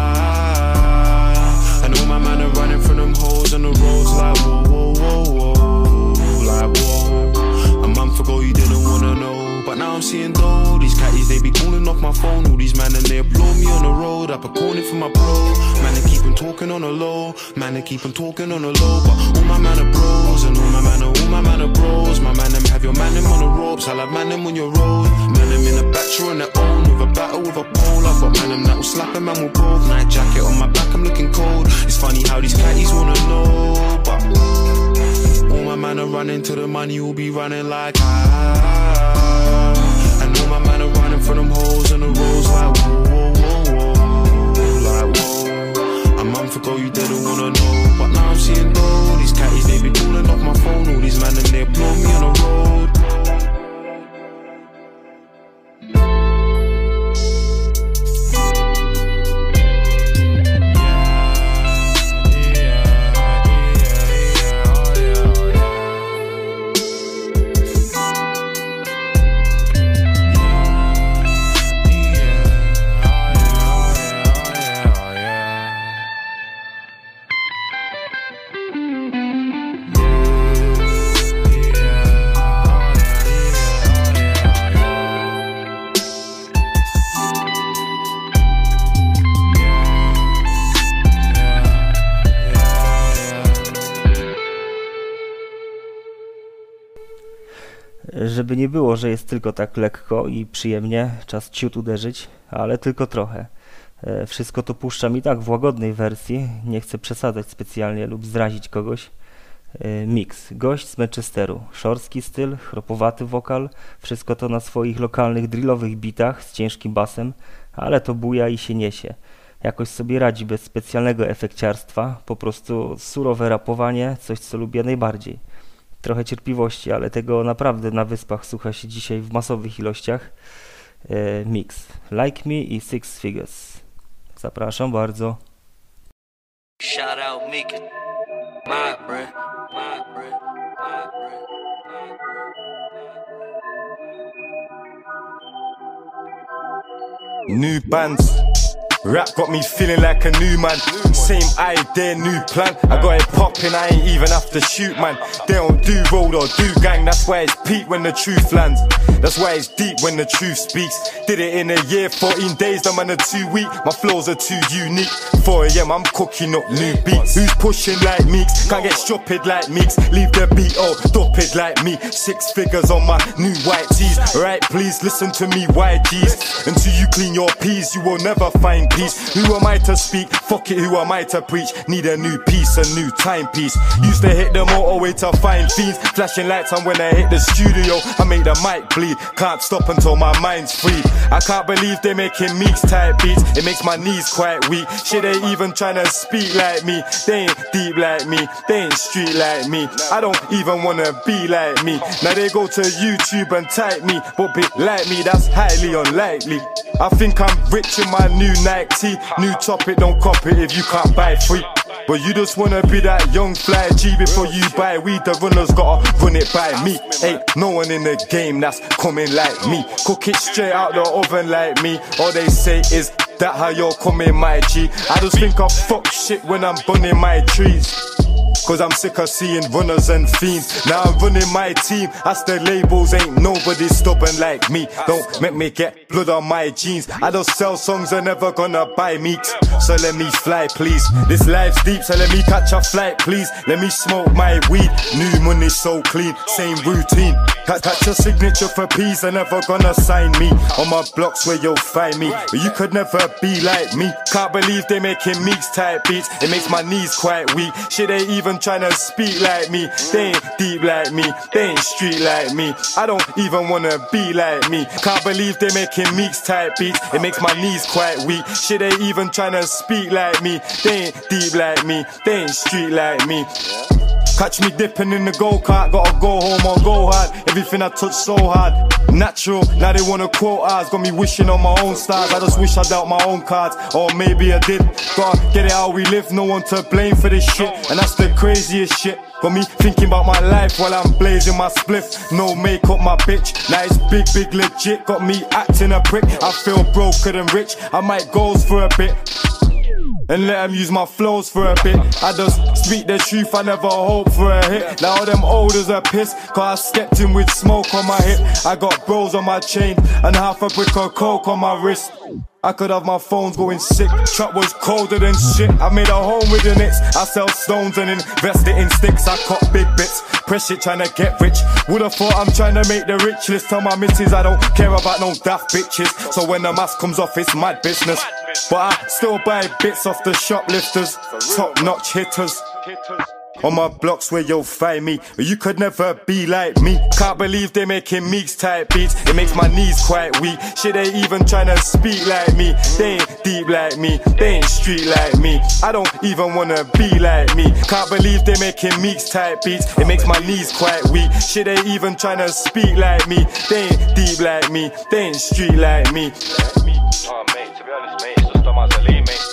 ah. And all my man are running from them holes on the roads like whoa, whoa, whoa, whoa. Like whoa. A month ago you didn't wanna know, but now I'm seeing though. These catties, they be calling off my phone. All these man and they applaud me on the road. Up a corner for my bro. Man, they keep on talking on the low. Man, they keep on talking on the low. But all my man are bros. And all my man are, all my man are bros. My man them have your man them on the ropes. I'll have man them on your road. Man them in a battery on their own. With a battle with a pole. I've got man them that will slap a man with both. Night jacket on my back, I'm looking cold. It's funny how these catties wanna know, but all my man are running to the money, will be running like ah. And all my man are running from them holes on the roads like whoa, whoa, whoa, whoa. Like whoa. A month ago you didn't wanna know, but now I'm seeing though. These catties, they be calling off my phone. All these man and they applaud me on the road. Żeby nie było, że jest tylko tak lekko i przyjemnie, czas ciut uderzyć, ale tylko trochę. Wszystko to puszczam i tak w łagodnej wersji, nie chcę przesadzać specjalnie lub zrazić kogoś. Mix, gość z Manchesteru, szorstki styl, chropowaty wokal, wszystko to na swoich lokalnych drillowych bitach z ciężkim basem, ale to buja i się niesie. Jakoś sobie radzi bez specjalnego efekciarstwa, po prostu surowe rapowanie, coś co lubię najbardziej. Trochę cierpliwości, ale tego naprawdę na wyspach słucha się dzisiaj w masowych ilościach. E, mix. Like Me i Six Figures. Zapraszam bardzo. Shout out Meek. My breath. My breath. My breath. New bands. Rap got me feeling like a new man. Same idea, new plan. I got it popping, I ain't even have to shoot, man. They don't do road or do gang. That's why it's peak when the truth lands. That's why it's deep when the truth speaks. Did it in a year, fourteen days, the man are too weak. My flows are too unique. four A M I'm cooking up new beats. Who's pushing like Meeks? Can't get stupid like Meeks. Leave the beat all stupid like me. Six figures on my new white tees. Right, please listen to me, Y Gs. Until you clean your peas, you will never find peace. Who am I to speak? Fuck it, who am I to preach? Need a new piece, a new timepiece. Used to hit the motorway to find fiends. Flashing lights on when I hit the studio. I make the mic bleed. Can't stop until my mind's free. I can't believe they making Meeks type beats. It makes my knees quite weak. Shit, they even tryna speak like me. They ain't deep like me. They ain't street like me. I don't even wanna be like me. Now they go to YouTube and type me, but be like me, that's highly unlikely. I think I'm rich in my new Nike tee. New topic, don't cop it if you can't buy free. But you just wanna be that young fly G before you buy weed. The runners gotta run it by me. Ain't no one in the game that's coming like me. Cook it straight out the oven like me. All they say is that how you're coming, my G. I just think I fuck shit when I'm burning my trees. Cause I'm sick of seeing runners and fiends. Now I'm running my team. As the labels, ain't nobody stubborn like me. Don't make me get blood on my jeans. I just sell songs, they're never gonna buy Meeks. So let me fly, please. This life's deep, so let me catch a flight, please. Let me smoke my weed. New money so clean, same routine. Catch your signature for peace, they're never gonna sign me. On my blocks where you'll find me. But you could never be like me. Can't believe they making Meeks type beats. It makes my knees quite weak. Shit, they even tryna speak like me. They ain't deep like me. They ain't street like me. I don't even wanna be like me. Can't believe they making Meeks type beats. It makes my knees quite weak. Shit, they even tryna speak like me. They ain't deep like me. They ain't street like me. Catch me dipping in the go-kart, gotta go home or go hard. Everything I touch so hard, natural. Now they wanna quote ours, got me wishing on my own stars. I just wish I dealt my own cards, or maybe I did. Gotta get it how we live, no one to blame for this shit. And that's the craziest shit. Got me thinking about my life while I'm blazing my spliff. No makeup, my bitch. Now it's big, big legit. Got me acting a prick. I feel broker than rich. I might goes for a bit and let them use my flows for a bit. I just speak the truth, I never hope for a hit. Now all them olders are pissed, cause I stepped in with smoke on my hip. I got bros on my chain, and half a brick of coke on my wrist. I could have my phones going sick. Trap was colder than shit. I made a home with the Knicks. I sell stones and invest it in sticks. I cut big bits. Press shit trying to get rich. Would've thought I'm trying to make the rich list. Tell my missus I don't care about no daft bitches. So when the mask comes off, it's mad business. But I still buy bits off the shoplifters. Top notch hitters. On my blocks where you'll find me. You could never be like me. Can't believe they making Meeks type beats. It makes my knees quite weak. Shit, they even tryna speak like me. They ain't deep like me. They ain't street like me. I don't even wanna be like me. Can't believe they making Meeks type beats. It makes my knees quite weak. Shit, they even tryna speak like me. They ain't deep like me. They ain't street like me. Oh mate, to be honest mate, it's just dumb as a lean mate.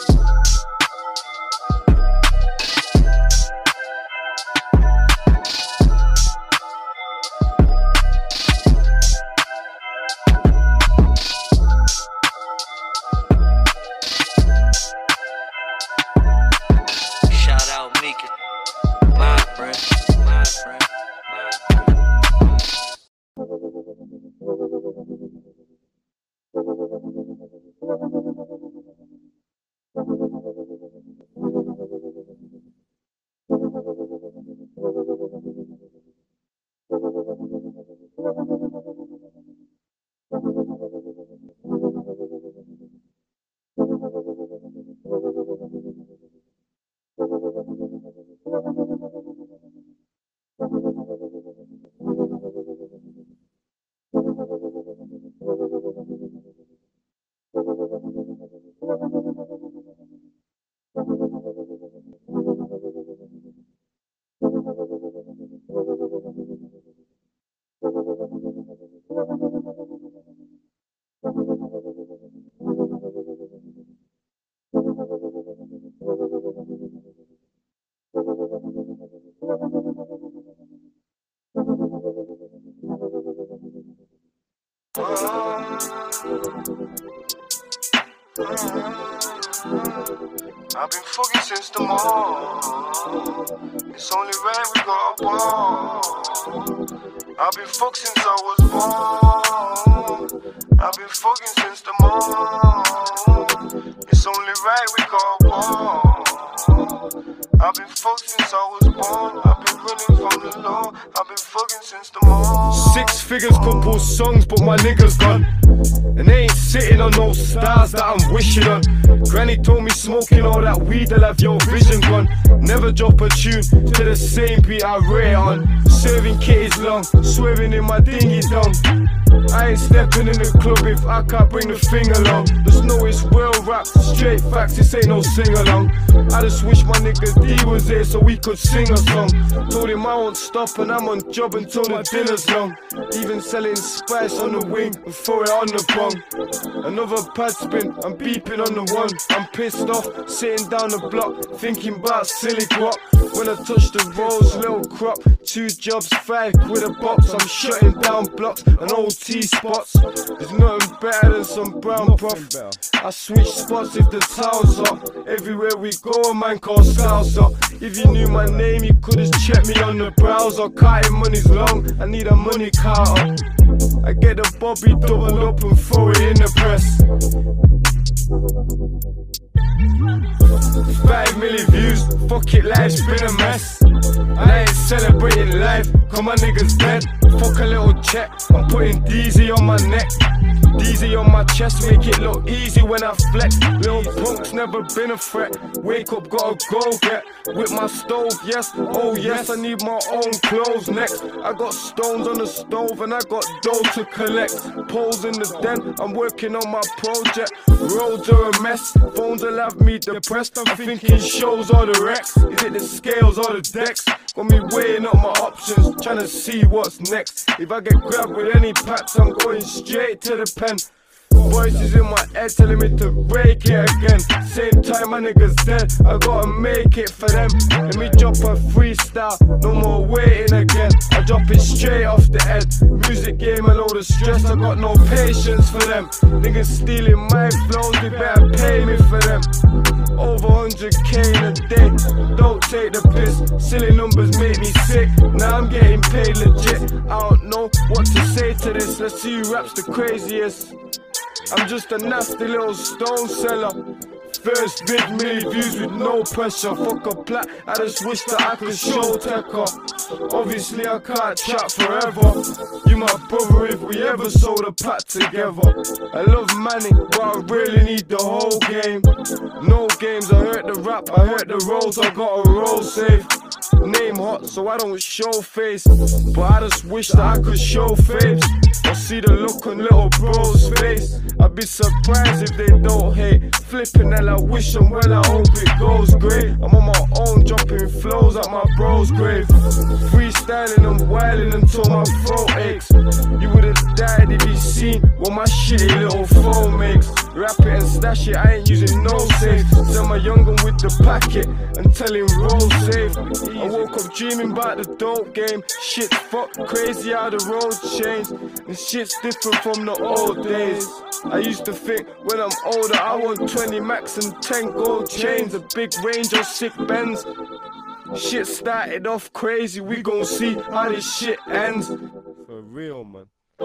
I've been fucking since the morning. It's only right we got a ball. I've been fucked since I was born. I've been fucking since the morning. It's only right we got a ball. I've been fucked since I was born. I've been running from the law. I've been fucking since the morning. Six figures compose songs, but my niggas gone. And they ain't sitting on no stars that I'm wishing on. Granny told me smoking all that weed, I'll have your vision gone. Never drop a tune to the same beat I rate on. Serving kitties long, swerving in my dinghy dong. I ain't stepping in the club if I can't bring the thing along. Just know it's well rap, straight facts, this ain't no sing-along. I just wish my nigga D was there so we could sing a song. Told him I won't stop and I'm on job until the dinner's long. Even selling spice on the wing and throw it on the bong. Another pad spin, I'm beeping on the one. I'm pissed off, sitting down the block, thinking about silly guap. When I touch the rolls, little crop, two jobs, five quid a box. I'm shutting down blocks and old T-spots. There's nothing better than some brown broth. I switch spots if the town's up. Everywhere we go, a man called Salsa. If you knew my name, you could've checked me on the browser. Counting money's long, I need a money counter. I get the Bobby double up and throw it in the press. Five million views, fuck it, life's been a mess. And I ain't celebrating life, cause my niggas dead. Fuck a little check, I'm putting D Z on my neck. D Z on my chest, make it look easy when I flex. Little punk's never been a threat. Wake up, gotta go get with my stove, yes, oh yes, I need my own clothes next. I got stones on the stove and I got dough to collect. Poles in the den, I'm working on my project. Roads are a mess, phones will have me depressed. I'm thinking shows or the Rex. Is it the scales or the decks? Got me weighing up my options, trying to see what's next. If I get grabbed with any packs, I'm going straight to the pen. Voices in my head telling me to break it again. Same time my niggas dead, I gotta make it for them. Let me drop a freestyle, no more waiting again. I drop it straight off the head. Music game and all the stress, I got no patience for them. Niggas stealing my flows, they better pay me for them. Over one hundred K in a day, don't take the piss. Silly numbers make me sick, now I'm getting paid legit. I don't know what to say to this, let's see who raps the craziest. I'm just a nasty little stone seller. First big million views with no pressure. Fuck a plat, I just wish that I could show Tekka. Obviously I can't chat forever. You my brother if we ever sold a pack together. I love Manny, but I really need the whole game. No games, I heard the rap, I heard the rolls, I got a roll safe. Name hot, so I don't show face. But I just wish that I could show face. I see the look on little bro's face. I'd be surprised if they don't hate. Flipping hell, I wish them well, I hope it goes great. I'm on my own, dropping flows at my bro's grave. Freestyling and wilding until my throat aches. You would've died if you seen what my shitty little phone makes. Wrap it and stash it, I ain't using no safe. Send my young one with the packet and tell him roll safe. I woke up dreaming about the dope game. Shit's fucked, crazy how the roads changed. And shit's different from the old days. I used to think when I'm older I want twenty max and ten gold chains. A big range of sick Benz. Shit started off crazy, we gon' see how this shit ends. For real, man.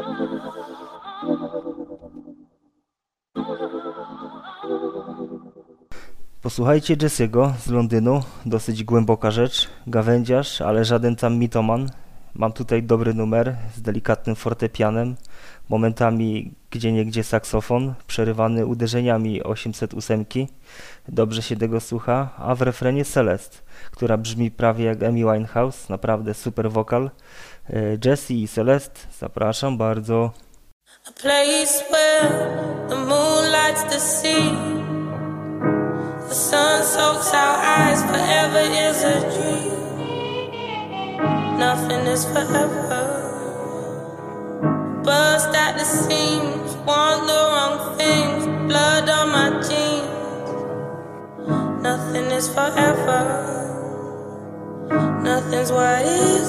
Posłuchajcie Jesse'ego z Londynu, dosyć głęboka rzecz, gawędziarz, ale żaden tam mitoman. Mam tutaj dobry numer z delikatnym fortepianem, momentami gdzieniegdzie saksofon, przerywany uderzeniami osiemset osiem. Dobrze się tego słucha, a w refrenie Celeste, która brzmi prawie jak Amy Winehouse, naprawdę super wokal. Jesse i Celeste, zapraszam bardzo. A place where the moon lights the sea, the sun soaks our eyes, forever is a dream. Nothing is forever. Burst at the seams, want the wrong things, blood on my jeans. Nothing is forever. Nothing's what it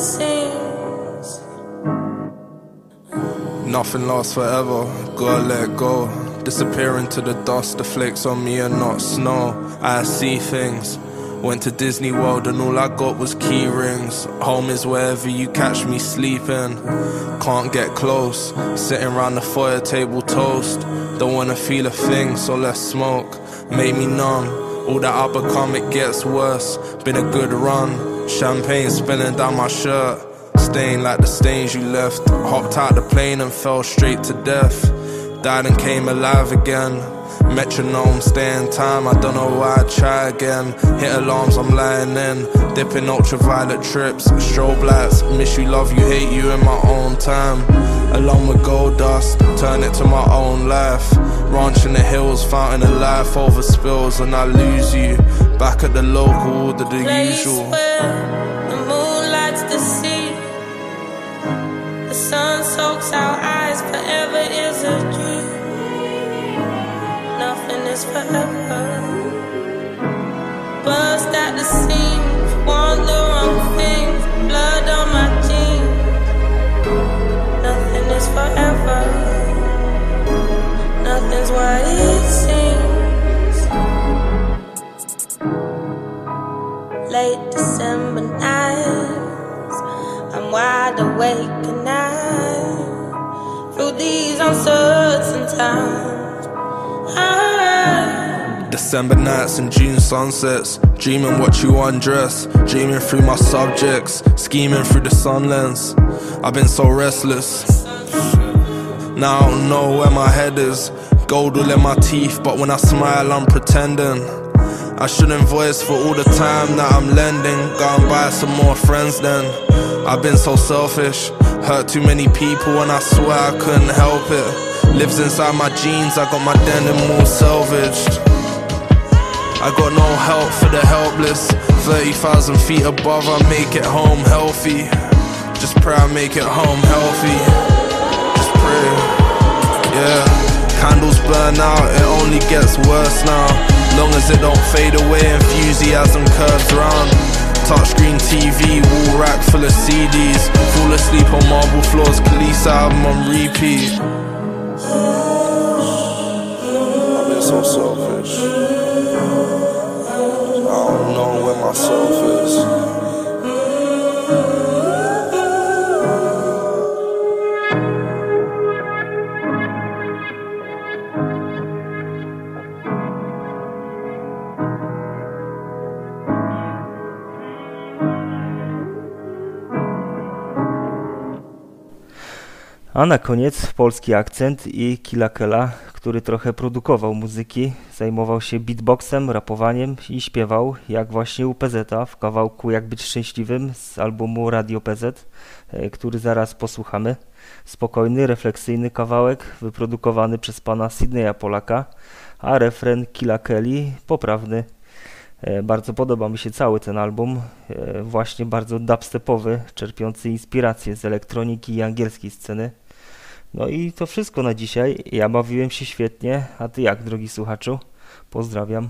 seems. Nothing lasts forever, gotta let go. disappear into the dust. The flakes on me are not snow. I see things. Went to Disney World and all I got was key rings. Home is wherever you catch me sleeping. Can't get close, sitting round the foyer table toast. Don't wanna feel a thing, so let's smoke. Made me numb, all that I become it gets worse. Been a good run, champagne spilling down my shirt. Stain like the stains you left. Hopped out the plane and fell straight to death. Died and came alive again. Metronome, stay in time, I don't know why I try again. Hit alarms, I'm lying in. Dipping ultraviolet trips, strobe lights. Miss you, love you, hate you in my own time. Along with gold dust, turn it to my own life. Ranch in the hills, fountain of life over spills. And I lose you, back at the local, the, the usual. Where the moon lights the sea, the sun soaks our eyes, forever is a dream. Nothing is forever. Burst at the seams, want the wrong things, blood on my jeans. Nothing is forever. Nothing's what it seems. Late December nights, I'm wide awake at night. Through these uncertain times, December nights and June sunsets, dreaming what you undress, dreaming through my subjects, scheming through the sun lens. I've been so restless. Now I don't know where my head is. Gold all in my teeth, but when I smile I'm pretending. I shouldn't voice for all the time that I'm lending. Go and buy some more friends then. I've been so selfish, hurt too many people and I swear I couldn't help it. Lives inside my jeans, I got my denim all salvaged. I got no help for the helpless. Thirty thousand feet above, I make it home healthy. Just pray I make it home healthy. Just pray, yeah. Candles burn out, it only gets worse now. Long as it don't fade away, enthusiasm curves round. Touchscreen T V, wall rack full of C Ds. Fall asleep on marble floors, Khalees album on repeat. I've been so selfish. I don't know where myself is. A na koniec polski akcent i Killa Kela, który trochę produkował muzyki, zajmował się beatboxem, rapowaniem i śpiewał, jak właśnie u P Z-a w kawałku Jak być szczęśliwym z albumu Radio P Z, który zaraz posłuchamy. Spokojny, refleksyjny kawałek wyprodukowany przez pana Sydneya Polaka, a refren Killa Keli poprawny. Bardzo podoba mi się cały ten album, właśnie bardzo dubstepowy, czerpiący inspiracje z elektroniki i angielskiej sceny. No i to wszystko na dzisiaj. Ja bawiłem się świetnie, a ty jak, drogi słuchaczu? Pozdrawiam.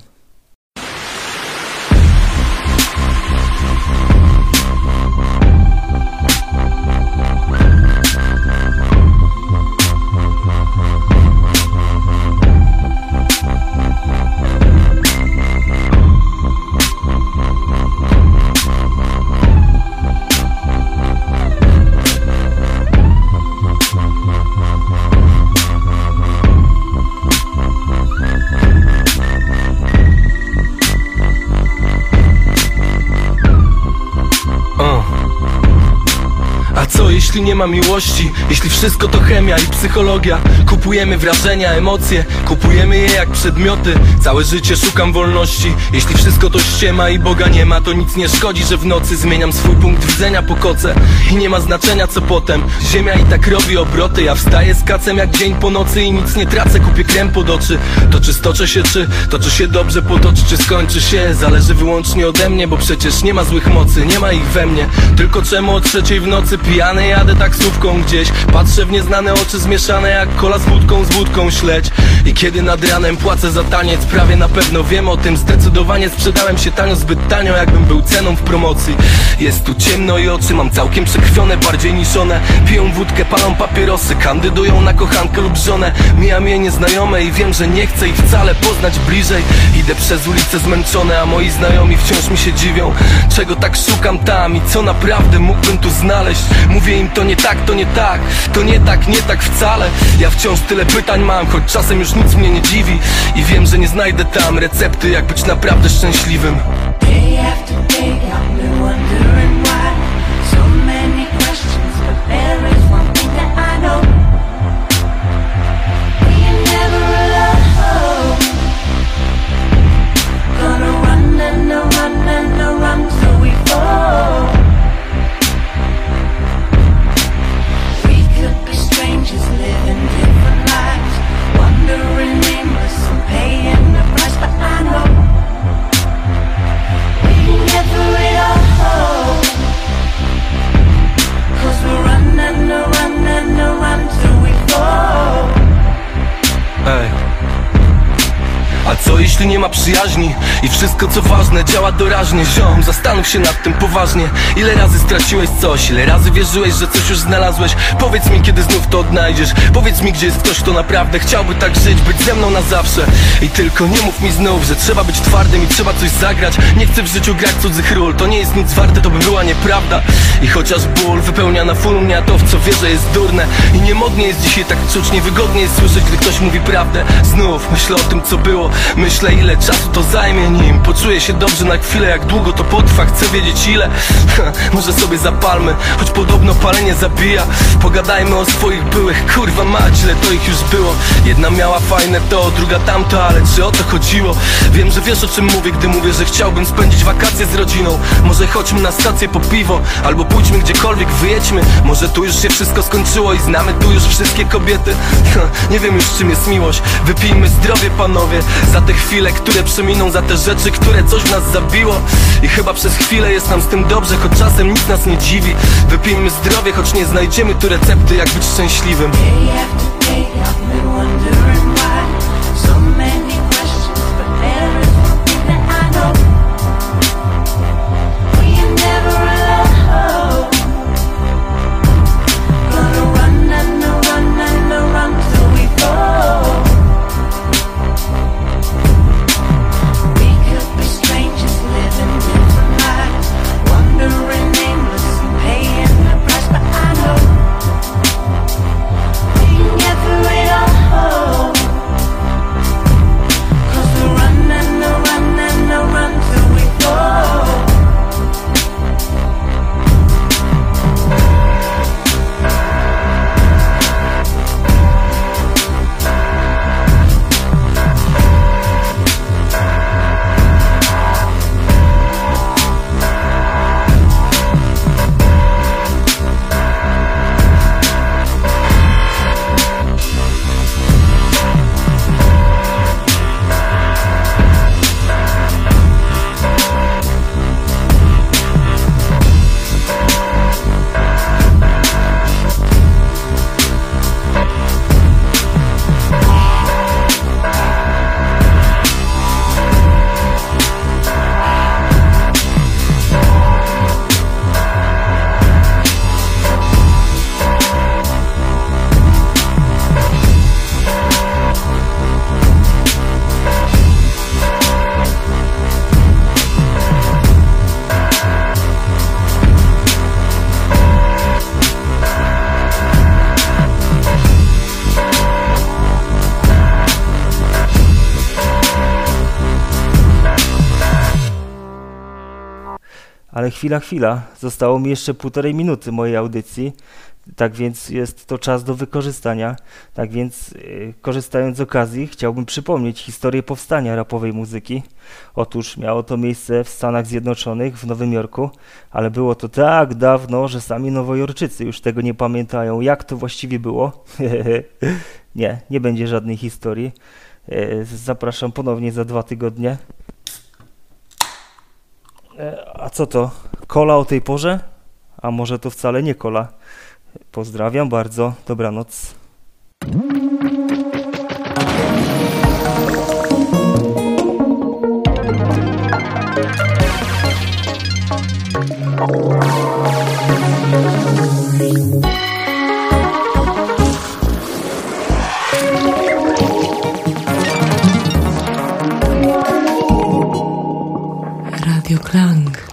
Jeśli nie ma miłości, jeśli wszystko to chemia i psychologia, kupujemy wrażenia, emocje, kupujemy je jak przedmioty. Całe życie szukam wolności. Jeśli wszystko to ściema i Boga nie ma, to nic nie szkodzi, że w nocy zmieniam swój punkt widzenia po koce. I nie ma znaczenia co potem, ziemia i tak robi obroty. Ja wstaję z kacem jak dzień po nocy i nic nie tracę, kupię krem pod oczy. To czy stoczę się, czy toczy się dobrze, potoczy, czy skończy się, zależy wyłącznie ode mnie, bo przecież nie ma złych mocy, nie ma ich we mnie. Tylko czemu o trzeciej w nocy pijany ja jadę taksówką gdzieś. Patrzę w nieznane oczy zmieszane jak kola z wódką, z wódką śledź. I kiedy nad ranem płacę za taniec, prawie na pewno wiem o tym. Zdecydowanie sprzedałem się tanio, zbyt tanio, jakbym był ceną w promocji. Jest tu ciemno i oczy mam całkiem przekrwione, bardziej niż one. Piją wódkę, palą papierosy, kandydują na kochankę lub żonę. Mijam je nieznajome i wiem, że nie chcę ich wcale poznać bliżej. Idę przez ulice zmęczone, a moi znajomi wciąż mi się dziwią. Czego tak szukam tam i co naprawdę mógłbym tu znaleźć? Mówię im to nie tak, to nie tak, to nie tak, nie tak wcale. Ja wciąż tyle pytań mam, choć czasem już nic mnie nie dziwi. I wiem, że nie znajdę tam recepty, jak być naprawdę szczęśliwym. Day after day, I've been wondering why. So many questions, but there is one thing that I know. We are never alone. Gonna run and a run and a run till we fall. We could be strangers living different lives, wandering aimless and paying the price, but I know get through it all, 'cause we're running, a run and a run till we fall. Ej. A co jeśli nie ma przyjaźni i wszystko co ważne działa doraźnie? Ziom, zastanów się nad tym poważnie. Ile razy straciłeś coś, ile razy wierzyłeś, że coś już znalazłeś? Powiedz mi, kiedy znów to odnajdziesz. Powiedz mi, gdzie jest ktoś, kto naprawdę chciałby tak żyć, być ze mną na zawsze. I tylko nie mów mi znów, że trzeba być twardym i trzeba coś zagrać. Nie chcę w życiu grać cudzych ról, to nie jest nic warte, to by była nieprawda. I chociaż ból wypełnia na full mnie, a to w co wierzę jest durne. I niemodnie jest dzisiaj tak czuć, niewygodnie jest słyszeć, gdy ktoś mówi prawdę. Znów myślę o tym, co było. Myślę, ile czasu to zajmie, nim poczuję się dobrze na chwilę. Jak długo to potrwa, chcę wiedzieć ile. Może sobie zapalmy, choć podobno palenie zabija. Pogadajmy o swoich byłych, kurwa mać, ile to ich już było. Jedna miała fajne to, druga tamto, ale czy o to chodziło? Wiem, że wiesz o czym mówię, gdy mówię, że chciałbym spędzić wakacje z rodziną. Może chodźmy na stację po piwo, albo pójdźmy gdziekolwiek, wyjedźmy. Może tu już się wszystko skończyło i znamy tu już wszystkie kobiety. Nie wiem już czym jest miłość. Wypijmy zdrowie, panowie, za te chwile, które przeminą, za te rzeczy, które coś w nas zabiło. I chyba przez chwilę jest nam z tym dobrze, choć czasem nic nas nie dziwi. Wypijmy zdrowie, choć nie znajdziemy tu recepty, jak być szczęśliwym. Day after day, I've been wondering why. So many questions, but there is one thing that I know. We are never alone. Gonna run and a run and a run till we fall. We could be strangers living different lives, wandering aimless and paying the price, but I know we can get through it all. 'Cause we run and a run and a run till we fall. Ale chwila, chwila, zostało mi jeszcze półtorej minuty mojej audycji, tak więc jest to czas do wykorzystania. Tak więc yy, korzystając z okazji chciałbym przypomnieć historię powstania rapowej muzyki. Otóż miało to miejsce w Stanach Zjednoczonych, w Nowym Jorku, ale było to tak dawno, że sami Nowojorczycy już tego nie pamiętają, jak to właściwie było. Nie, nie będzie żadnej historii. Yy, zapraszam ponownie za dwa tygodnie. A co to? Kola o tej porze? A może to wcale nie kola? Pozdrawiam bardzo, dobranoc. Radio Klang.